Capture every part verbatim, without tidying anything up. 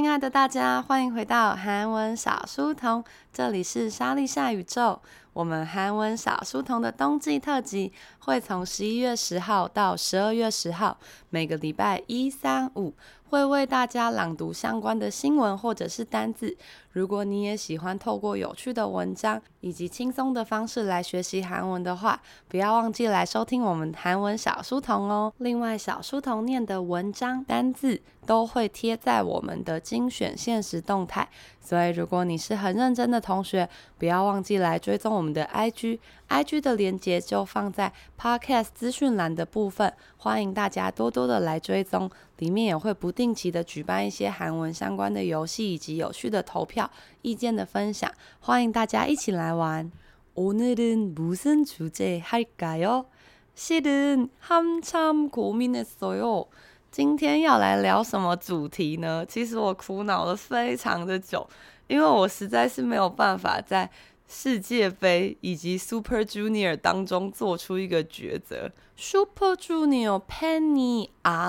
親愛的大家，歡迎回到韓文小書童，這裡是莎莉夏宇宙。我們韓文小書童的冬季特輯會從十一月十號到十二月十號，每個禮拜一、三、五會為大家朗讀相關的新聞或者是單字。如果你也喜歡透過有趣的文章以及輕鬆的方式來學習韓文的話，不要忘記來收聽我們韓文小書童哦。另外，小書童念的文章、單字都會貼在我們的精選限時動態，所以如果你是很認真的同學，不要忘記來追蹤我們的 I G，I G 的連結就放在 Podcast 資訊欄的部分，歡迎大家多多的來追蹤，裡面也會不定期的舉辦一些韓文相關的遊戲以及有趣的投票、意見的分享，歡迎大家一起來玩。오늘은 무슨 주제 할까요? 실은 한참 고민했어요。今天要來聊什麼主題呢？其實我苦惱了非常的久，因為我實在是沒有辦法在世界杯以及 Super Junior 當中做出一個抉擇。Super Junior 팬이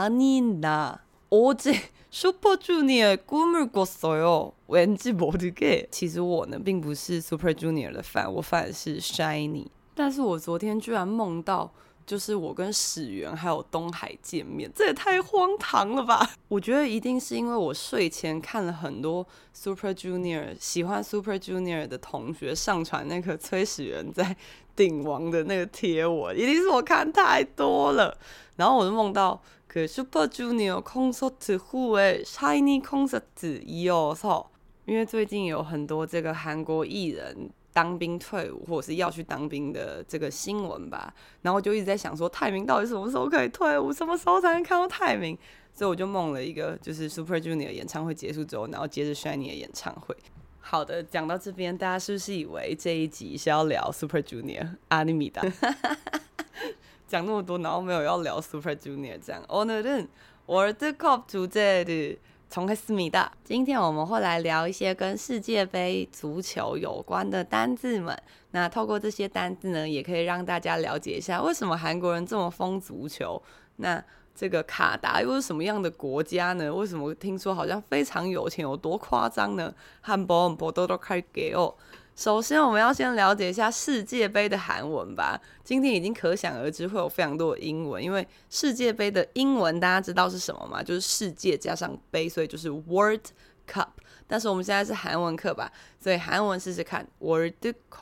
아니다。어제 Super Junior 꿈을 꿨어요。왠지 모르게。其實我呢，並不是 Super Junior 的 fan， 我fan的是 SHINee。但是我昨天居然夢到，就是我跟始源還有東海見面，這也太荒唐了吧！我覺得一定是因為我睡前看了很多 Super Junior 喜歡 Super Junior 的同學上傳那個崔始源在頂王的那個貼文，一定是我看太多了。然後我就夢到그 Super Junior 콘서트 후에 SHINee 콘서트이어서，因為最近有很多這個韓國藝人當兵退伍或者是要去當兵的這個新聞吧，然後我就一直在想說泰民到底什麼時候可以退伍，什麼時候才能看到泰民，所以我就夢了一個就是 Super Junior 演唱會結束之後，然後接着 SHINee 的演唱會。好的，講到這邊，大家是不是以為這一集是要聊 Super Junior 아닙니다。講那麼多，然後沒有要聊 Super Junior 這樣。오늘은 월드컵 주제를 정했습니다。今天我們會來聊一些跟世界杯足球有關的單字們。那透過這些單字呢，也可以讓大家了解一下為什麼韓國人這麼瘋足球。那這個卡達又是什麼樣的國家呢？為什麼聽說好像非常有錢，有多誇張呢？한번 보도록 할게요。首先，我們要先了解一下世界杯的韓文吧。今天已經可想而知會有非常多的英文，因為世界杯的英文大家知道是什麼嗎？就是世界加上杯，所以就是 World Cup。但是我們現在是韓文課吧，所以韓文試試看 World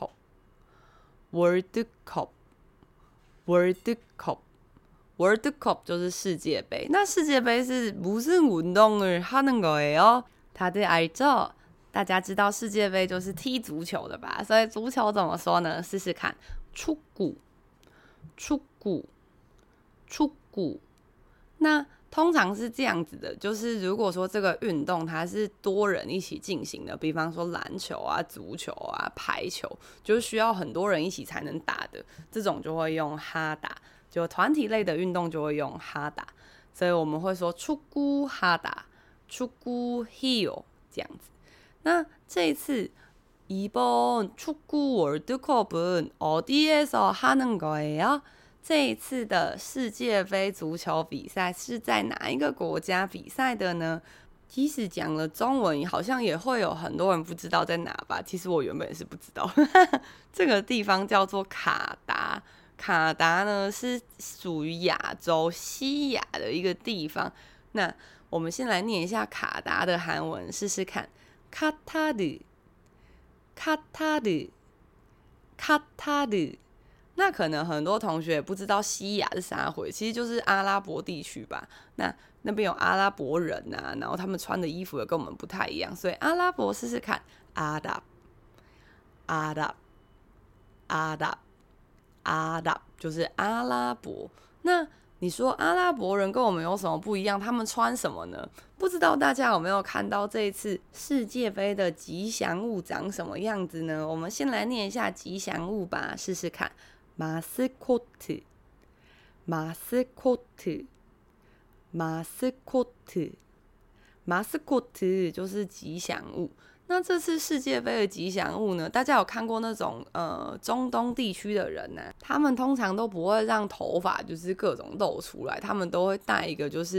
Cup。World Cup。World Cup。World Cup 就是世界杯。那世界杯是무슨 운동을 하는 거예요？다들 알죠？大家知道世界杯就是踢足球的吧？所以足球怎麼說呢？試試看，축구，축구，축구。那通常是這樣子的，就是如果說這個運動它是多人一起進行的，比方說籃球啊、足球啊、排球，就是需要很多人一起才能打的，這種就會用哈打，就團體類的運動就會用哈打，所以我們會說축구哈打、축구 히요這樣子。那這一次이번 축구 월드컵은 어디에서 하는 거예요？這一次的世界杯足球比賽是在哪一個國家比賽的呢？即使講了中文，好像也會有很多人不知道在哪吧？其實我原本也是不知道。這個地方叫做卡達，卡達呢是屬於亞洲西亞的一個地方。那我們先來念一下卡達的韓文，試試看。카타르， 카타르， 카타르。那可能很多同學也不知道西亞是啥回，其實就是阿拉伯地區吧。那那邊有阿拉伯人啊，然後他們穿的衣服也跟我們不太一樣，所以阿拉伯試試看，阿拉，阿拉，阿拉，阿拉，就是阿拉伯。那你說阿拉伯人跟我們有什麼不一樣？他們穿什麼呢？不知道大家有沒有看到這一次世界杯的吉祥物長什麼樣子呢？我們先來念一下吉祥物吧，試試看。마스코트， 마스코트， 마스코트， 마스코트就是吉祥物。那這次世界杯的吉祥物呢？大家有看過那種呃中東地區的人呢、啊？他們通常都不會讓頭髮就是各種露出來，他們都會戴一個就是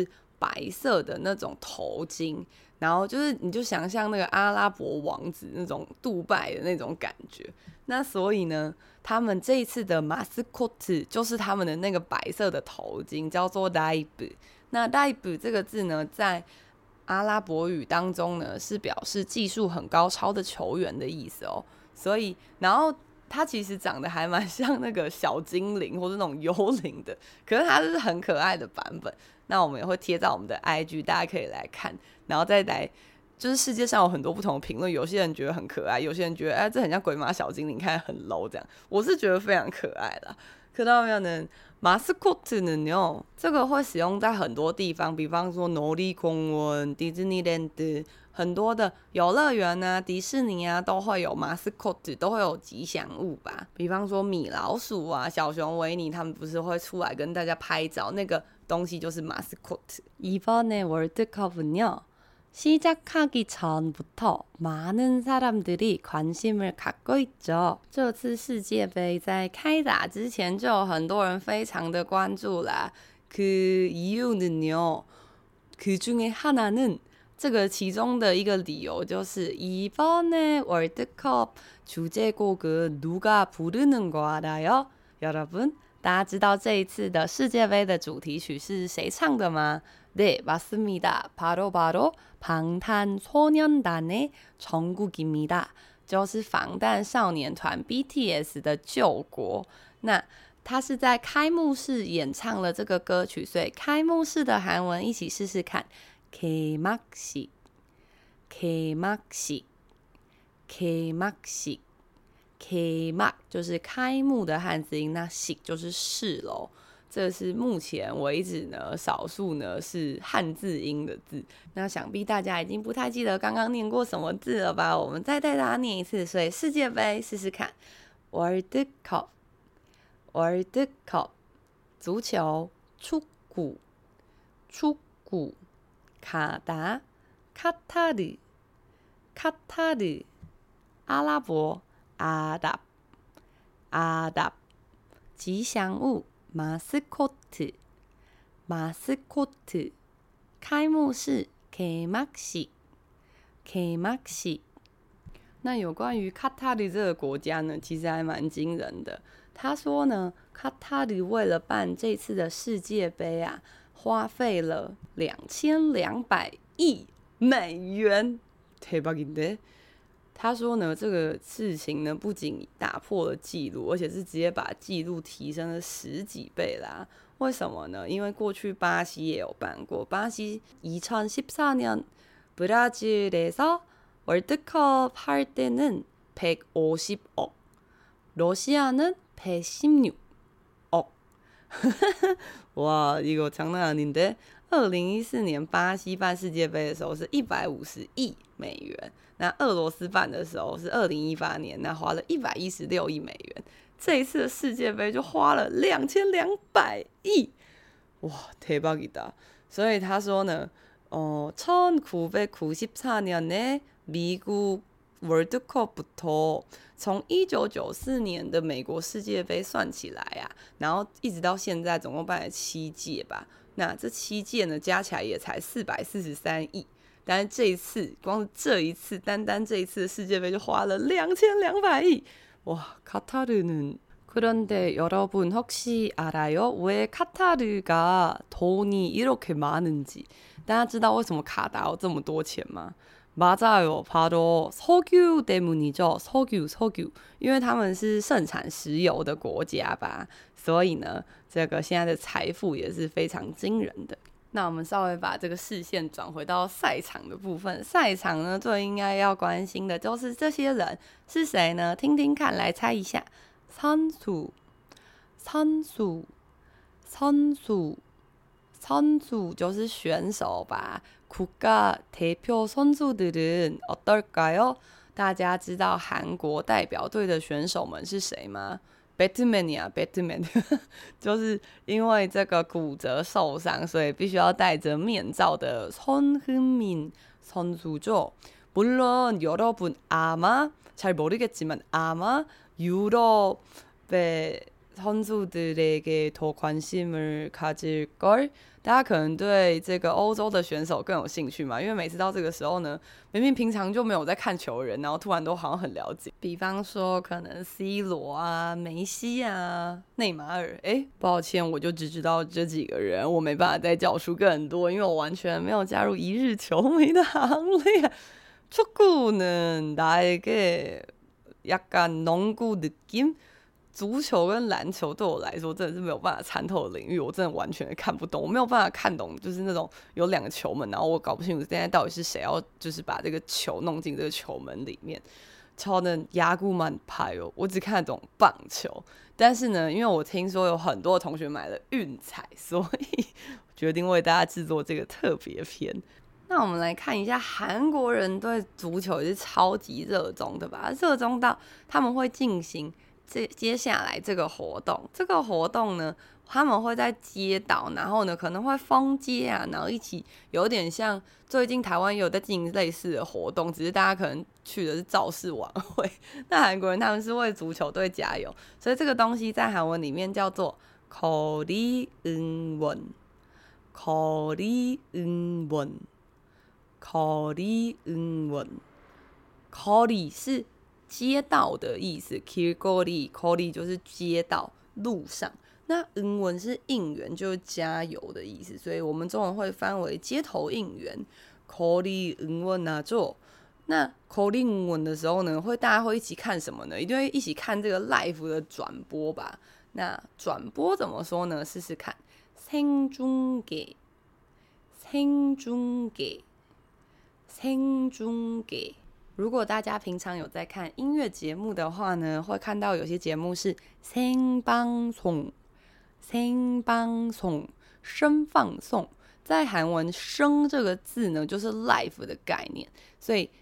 白色的那種頭巾，然後就是你就想象那個阿拉伯王子那種杜拜的那種感覺。那所以呢，他們這一次的馬斯科特就是他們的那個白色的頭巾，叫做 Daib。那 Daib 這個字呢，在阿拉伯語當中呢，是表示技術很高超的球員的意思哦。所以，然後它其實長得還蠻像那個小精靈或者那種幽靈的，可是它是很可愛的版本。那我們也會貼在我們的 I G， 大家可以來看，然後再來，就是世界上有很多不同的評論，有些人覺得很可愛，有些人覺得哎，這很像鬼馬小精靈，看很 low 這樣。我是覺得非常可愛啦。看到沒有呢？馬斯科特呢，這個會使用在很多地方，比方說놀이공원、迪士尼랜드，很多的遊樂園啊、迪士尼啊，都會有馬斯科特，都會有吉祥物吧。比方說米老鼠啊、小熊維尼，他們不是會出來跟大家拍照，那個東西就是馬斯科特。이번에 월드컵은요, 시작하기 전부터 많은 사람들이 관심을 갖고 있죠. 這次世界杯在開打之前就有很多人非常的關注啦。그 이유는요, 그 중에 하나는 這個其中的一個理由就是 이번에 월드컵 주제곡은 누가 부르는 거 알아요? 여러분, 大家知道這一次的世界杯的主題曲是誰唱的嗎？ 네, 맞습니다. 바로 바로 방탄소년단의 정국입니다. 就是防弹少年團 B T S 的救國。那他是在開幕式演唱了這個歌曲，所以開幕式的韓文一起試試看。개막식, 개막식, 개막식, 개막就是開幕的漢字音，那식就是是咯。這是目前為止呢，少數呢是漢字音的字。那想必大家已經不太記得剛剛念過什麼字了吧？我們再帶大家念一次。所以世界杯試試看 ，월드컵, 월드컵，足球，축구，축구，卡達，카타르，카타르，阿拉伯，阿達，阿達，吉祥物。馬斯科特，馬斯科特，開幕式，개막식，개막식。那有關於卡塔爾這個國家呢，其實還蠻驚人的。他說呢，卡塔爾為了辦這次的世界杯啊，花費了兩千兩百億美元，대박인데。他說呢，這個事情呢，不僅打破了紀錄，而且是直接把紀錄提升了十幾倍啦。為什麼呢？因為過去巴西也有辦過，巴西이천십사 년 브라질에서 월드컵 할 때는 백오십 억, 러시아는 백십육 억。哇，이거 장난 아닌데。二零一四年巴西辦世界杯的時候是一百五十億美元，那俄羅斯辦的時候是二零一八年，那花了一百一十六億美元。這一次的世界杯就花了兩千兩百億，哇，대박이다。所以他說呢，哦，천구백구십사 년에 미국 월드컵부터從一九九四年的美國世界杯算起來啊，然後一直到現在總共辦了七屆吧。那這七屆呢，加起來也才四百四十三億，但是這一次，光是這一次，單單這一次的世界杯就花了兩千兩百億，哇！카타르는 그런데 여러분 혹시 알아요? 왜 카타르가 돈이 이렇게 많은지? 大家知道為什麼卡達有這麼多錢嗎？맞아요, 바로 석유 때문이죠. 석유, 석유. 因為他們是盛產石油的國家吧，所以呢，這個現在的財富也是非常驚人的。那我們稍微把這個視線轉回到賽場的部分。賽場呢，最應該要關心的就是這些人是誰呢？聽聽看，來猜一下。선수, 선수, 선수, 선수就是選手吧。국가 대표 선수들은 어떨까요? 大家知道韓國代表隊的選手們是誰嗎？ 배트맨이야, 배트맨 就是因為這個骨折受傷，所以必須要戴着面罩的손흥민 선수죠. 물론 여러분 아마 잘 모르겠지만 아마 유럽의 선수들에게 더 관심을 가질 걸。大家可能對這個歐洲的選手更有興趣嘛，因為每次到這個時候呢，明明平常就沒有在看球的人，然後突然都好像很了解。比方說，可能 C 羅啊、梅西啊、內馬爾。哎，抱歉，我就只知道這幾個人，我沒辦法再叫出更多，因為我完全沒有加入一日球迷的行列。축구는 나에게 약간 농구 느낌？足球跟籃球對我來說真的是沒有辦法參透的領域，我真的完全的看不懂，我沒有辦法看懂，就是那種有兩個球門，然後我搞不清楚現在到底是誰要就是把這個球弄進這個球門裡面。超能야구만 봐요，我只看得懂棒球，但是呢，因為我聽說有很多同學買了運彩，所以決定為大家制作這個特別篇。那我們來看一下，韓國人對足球也是超級熱衷的吧？熱衷到他們會進行這接下來這個活動，這個活動呢，他們會在街道，然後呢可能會封街啊，然後一起有點像最近台灣也有在進行類似的活動，只是大家可能去的是造勢晚會。那韓國人他們是為足球隊加油，所以這個東西在韓文裡面叫做거리 응원，거리 응원，거리 응원，거리是街道的意思，길거리，거리就是街道、路上。那응원是應援，就是加油的意思，所以我們中文會翻為街頭應援。거리 응원하죠。那거리 응원的時候呢，會大家會一起看什麼呢？一定會一起看這個 live 的轉播吧？那轉播怎麼說呢？試試看，생중계，생중계，생중계。如果大家平常有在看音樂節目的話呢，會看到有些節目是생방송，생방송，聲放送。在韓文“聲”這個字呢，就是 live 的概念，所以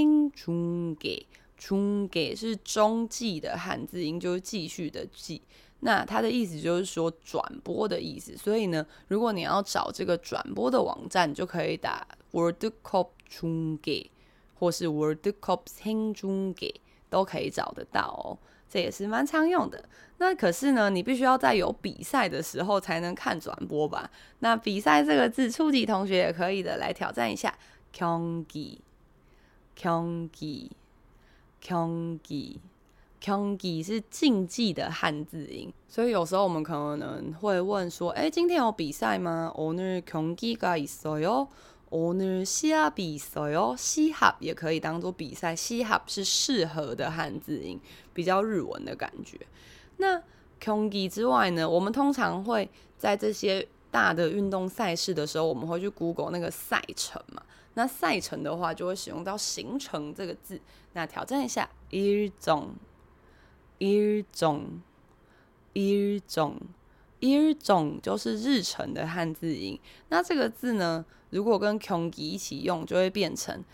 생중계，중계是中繼的漢字音，就是繼續的繼。那它的意思就是說轉播的意思，所以呢，如果你要找這個轉播的網站，你就可以打 월드컵 중계。或是 월드컵 생중계都可以找得到哦，這也是蠻常用的。那可是呢，你必須要在有比賽的時候才能看轉播吧？那比賽這個字，初級同學也可以的，來挑戰一下。경기，경기，경기，경기是競技的漢字音，所以有時候我們可能會問說，哎，今天有比賽嗎？오늘 경기가 있어요。오늘 시합이 있어요。시합也可以當做比賽，시합是適合的漢字音，比較日文的感覺。那경기之外呢，我們通常會在這些大的運動賽事的時候，我們會去 Google 那個賽程嘛。那賽程的話，就會使用到行程這個字。那挑戰一下，일정，일정，일정，일정就是日程的漢字音。那這個字呢，如果跟경기一起用，就會變成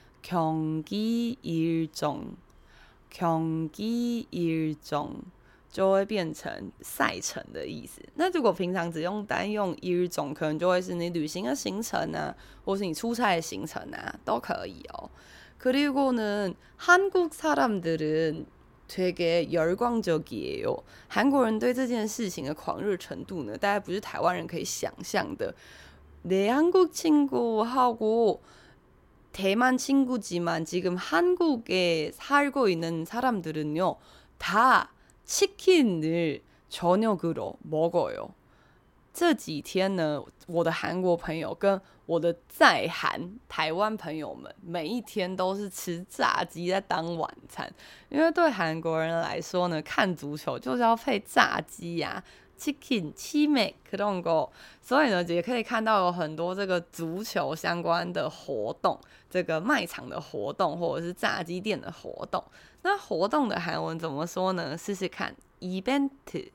경기일정，경기일정就會變成賽程的意思。那如果平常只用單用일정，可能就會是你旅行的行程啊，或是你出差的行程啊，都可以哦。그리고는 한국 사람들은 되게 열광적이에요。韓國人對這件事情的狂熱程度呢，大概不是台灣人可以想象的。내 한국 친구하고 대만 친구지만 지금 한국에 살고 있는 사람들은요, 다 치킨을 저녁으로 먹어요。這幾天呢，我的韓國朋友跟我的在韓台灣朋友們，每一天都是吃炸雞在當晚餐。因為對韓國人來說呢，看足球就是要配炸雞呀、啊。치킨, 치맥 그런 거，所以呢，也可以看到有很多這個足球相關的活動，這個賣場的活動或者是炸雞店的活動。那活動的韓文怎麼說呢？試試看 ，event，event，event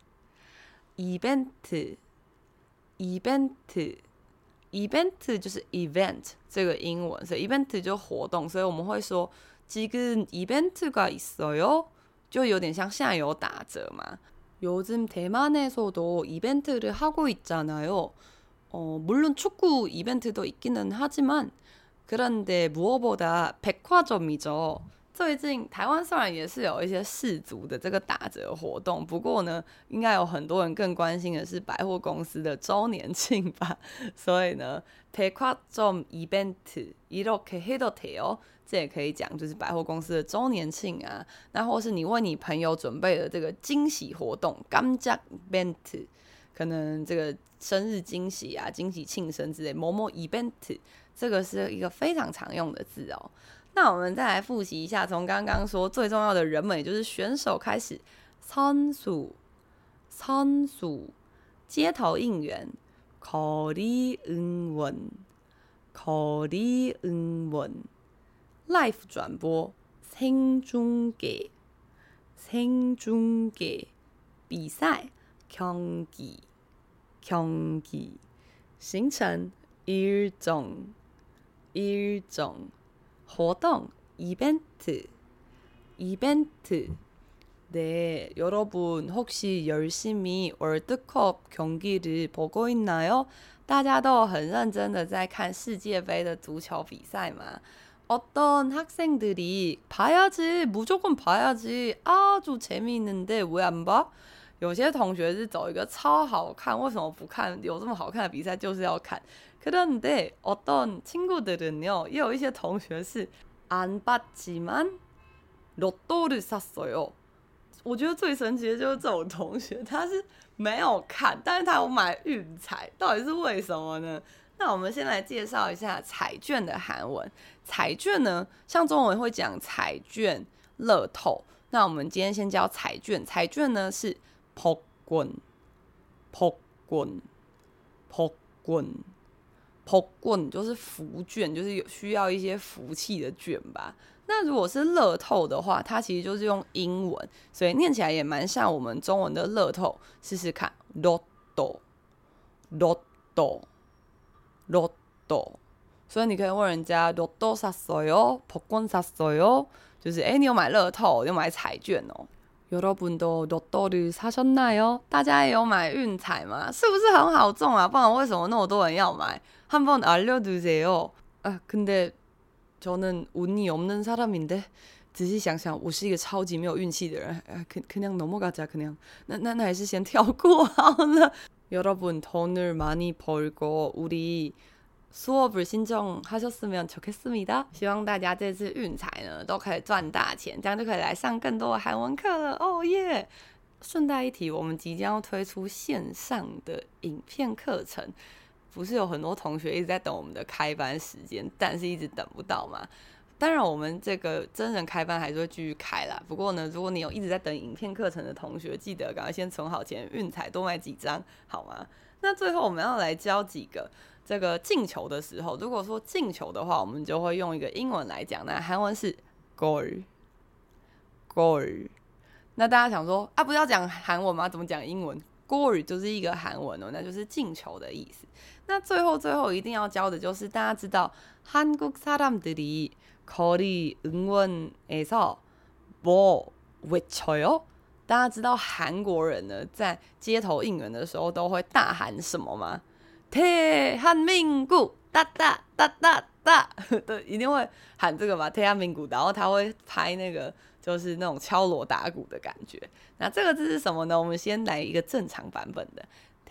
就是 event 這個英文，所以 event 就活動，所以我們會說지금 이벤트가 있어요，就有點像現在有打折嘛。요즘 대만에서도 이벤트를 하고 있잖아요. 어, 물론 축구 이벤트도 있기는 하지만 그런데 무엇보다 백화점이죠. 最近台灣雖然也是有一些世足的這個打折活動，不過呢，應該有很多人更關心的是百貨公司的週年慶吧。所以呢，백화점 이벤트 이렇게 해도 돼요。這也可以講，就是百貨公司的週年慶啊，那或是你為你朋友準備的這個驚喜活動，깜짝 이벤트，可能這個生日驚喜啊、驚喜慶生之類，某某 event， 這個是一個非常常用的字哦。那我們再來複習一下，從剛剛說最重要的人們，也就是選手開始，선수，선수，街頭應援，거리 응원，거리 응원，live轉播，생중계，생중계，比賽，경기，경기，行程，일정，일정，活動이벤트 이벤트 네, 여러분 혹시 열심히 월드컵 경기를 보고 있나요? 大家都很認真的在看世界杯的足球比賽嗎？ 어떤 학생들이 봐야지, 무조건 봐야지, 아주 재미있는데 왜 안 봐? 有些同學是走一個超好看，為什麼不看？有這麼好看的比賽就是要看。그런데 어떤 친구들은요, 也有一些同學是안 봤지만 로또를 샀어요. 我覺得最神奇的就是這種同學，他是沒有看，但是他有買運彩，到底是為什麼呢？那我們先來介紹一下彩券的韓文。彩券呢，像中文會講彩券、樂透，那我們今天先教彩券。彩券呢是복권、복권、복권、복권，就是福券，就是有需要一些福氣的券吧。那如果是樂透的話，它其實就是用英文，所以念起來也蠻像我們中文的樂透。試試看，로또、로또、로또。所以你可以問人家로또 샀어요、복권 샀어요，就是哎，你有買樂透，有買彩券哦。여러분도 로또를 사셨나요？大家也有買運彩嗎？是不是很好中啊？不然為什麼那麼多人要買？한번 알려주세요。啊，근데 저는 운이 없는 사람인데， 仔細想想，我是一個超級沒有運氣的人。啊，그냥 넘어가자 그냥。那那那還是先跳過好了。여러분 돈을 많이 벌고 우리 수업을 신청하셨으면 좋겠습니다。希望大家這次運彩呢都可以賺大錢，這樣就可以來上更多的韓文課了。哦耶！順帶一提，我們即將要推出線上的影片課程。不是有很多同學一直在等我們的開班時間，但是一直等不到嘛。當然，我們這個真人開班還是會繼續開啦。不過呢，如果你有一直在等影片課程的同學，記得趕快先存好錢，運彩多買幾張，好嗎？那最後我們要來教幾個這個進球的時候，如果說進球的話，我們就會用一個英文來講，那韓文是 goal，goal。那大家想說啊，不是要講韓文嗎？怎麼講英文？goal 就是一個韓文哦，那就是進球的意思。那最後最後一定要教的就是大家知道한국사람들이 거리 응원에서 뭐 외쳐요？大家知道韓國人呢在街頭應援的時候都會大喊什麼嗎？대한민국噠噠噠噠噠，對，一定會喊這個嘛，대한민국，然後他會拍那個就是那種敲鑼打鼓的感覺。那這個字是什麼呢？我們先來一個正常版本的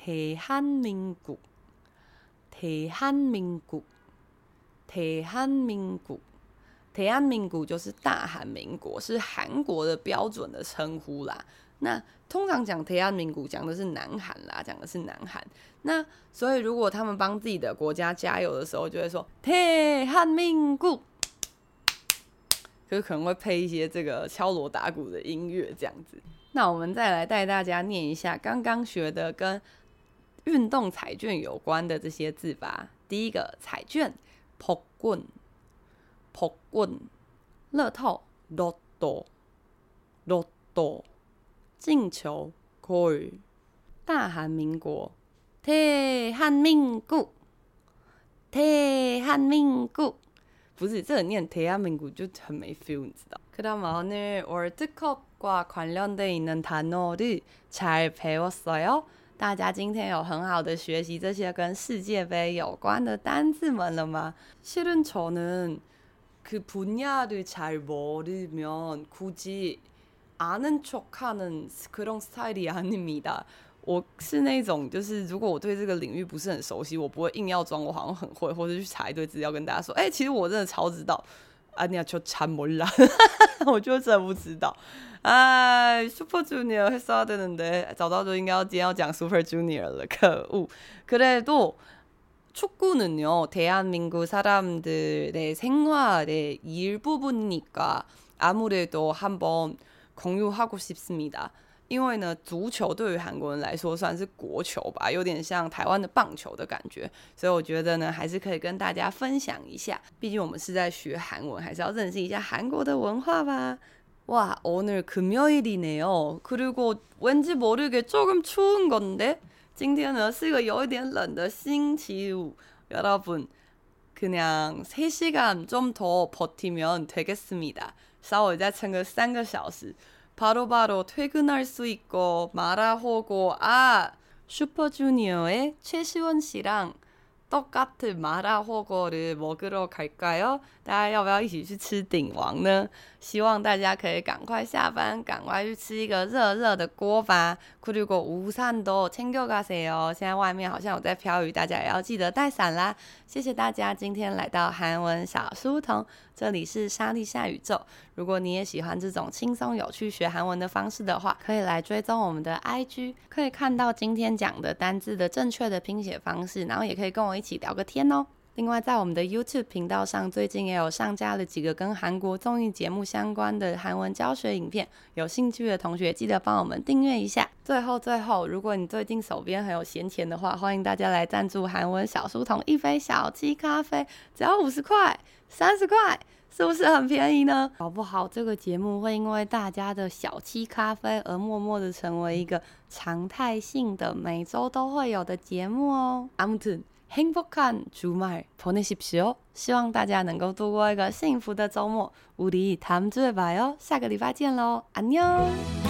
대한민국。대한민국，대한민국，대한민국就是大韓民國，是韓國的標準的稱呼啦。那通常講대한민국講的是南韓啦，講的是南韓。那所以如果他們幫自己的國家加油的時候，就會說대한민국，就是可能會配一些這個敲鑼打鼓的音樂這樣子。那我們再來帶大家念一下剛剛學的跟運動彩券有關的這些字吧。第一個彩券，복권，복권，樂透，로또，로또，進球，골，大韓民國，대한민국，대한민국，不是這個念대한민국就很沒 feel， 你知道。그럼 오늘 월드컵과 관련돼 있는 단어를 잘 배웠어요？大家今天有很好的學習這些跟世界杯有關的單字們了嗎？실은 저는 그 분야를 잘 모르면 굳이 아는 척하는 그런 스타일이 아닙니다。我是那种，就是如果我对这个領域不是很熟悉，我不會硬要裝我好像很會，或者去查一堆資料跟大家說，哎、欸，其實我真的超知道。아니야 저 잘 몰라 我就真的不知道。哎 Super Junior 했어야 되는데 早知道就應該要今天要講 Super Junior 了，可惡。그래도 축구는요 대한민국 사람들의 생활의 일부분이니까 아무래도 한번 공유하고 싶습니다。因為呢，足球對於韓國人來說算是國球吧，有點像台灣的棒球的感覺，所以我覺得呢，還是可以跟大家分享一下。畢竟我們是在學韓文，還是要認識一下韓國的文化吧。哇，오늘 금요일이네요。그리고 왠지 모르게 조금 추운 건데，今天呢是一個有一點冷的星期五。여러분，그냥 세 시간 좀 더 버티면 되겠습니다。稍微再撐個三個小時。바로바로 퇴근할 수 있고 말아오고 아 슈퍼주니어의 최시원 씨랑 똑같은 마라호거를 먹으러 갈까요? 大家要不要一起去吃鼎王呢？希望大家可以趕快下班，趕快去吃一個熱熱的鍋吧。그리고 우산도 챙겨가세요。現在外面好像有在飄雨，大家也要記得帶傘啦。謝謝大家今天來到韓文小書童，這裡是莎莉夏宇宙。如果你也喜歡這種輕鬆有趣學韓文的方式的話，可以來追蹤我們的 I G， 可以看到今天講的單字的正確的拼寫方式，然後也可以跟我一起聊個天哦。另外，在我們的 YouTube 頻道上，最近也有上架了幾個跟韓國綜藝節目相關的韓文教學影片，有興趣的同學記得幫我們訂閱一下。最後最後，如果你最近手邊很有閒錢的話，歡迎大家來贊助韓文小書童一杯小七咖啡，只要五十塊、三十塊，是不是很便宜呢？搞不好這個節目會因為大家的小七咖啡而默默的成為一個常態性的每週都會有的節目哦。아무튼 행복한 주말 보내십시오。希望大家能夠度過一個幸福的週末。우리 다음 주에 봐요。下個禮拜見嘍，안녕。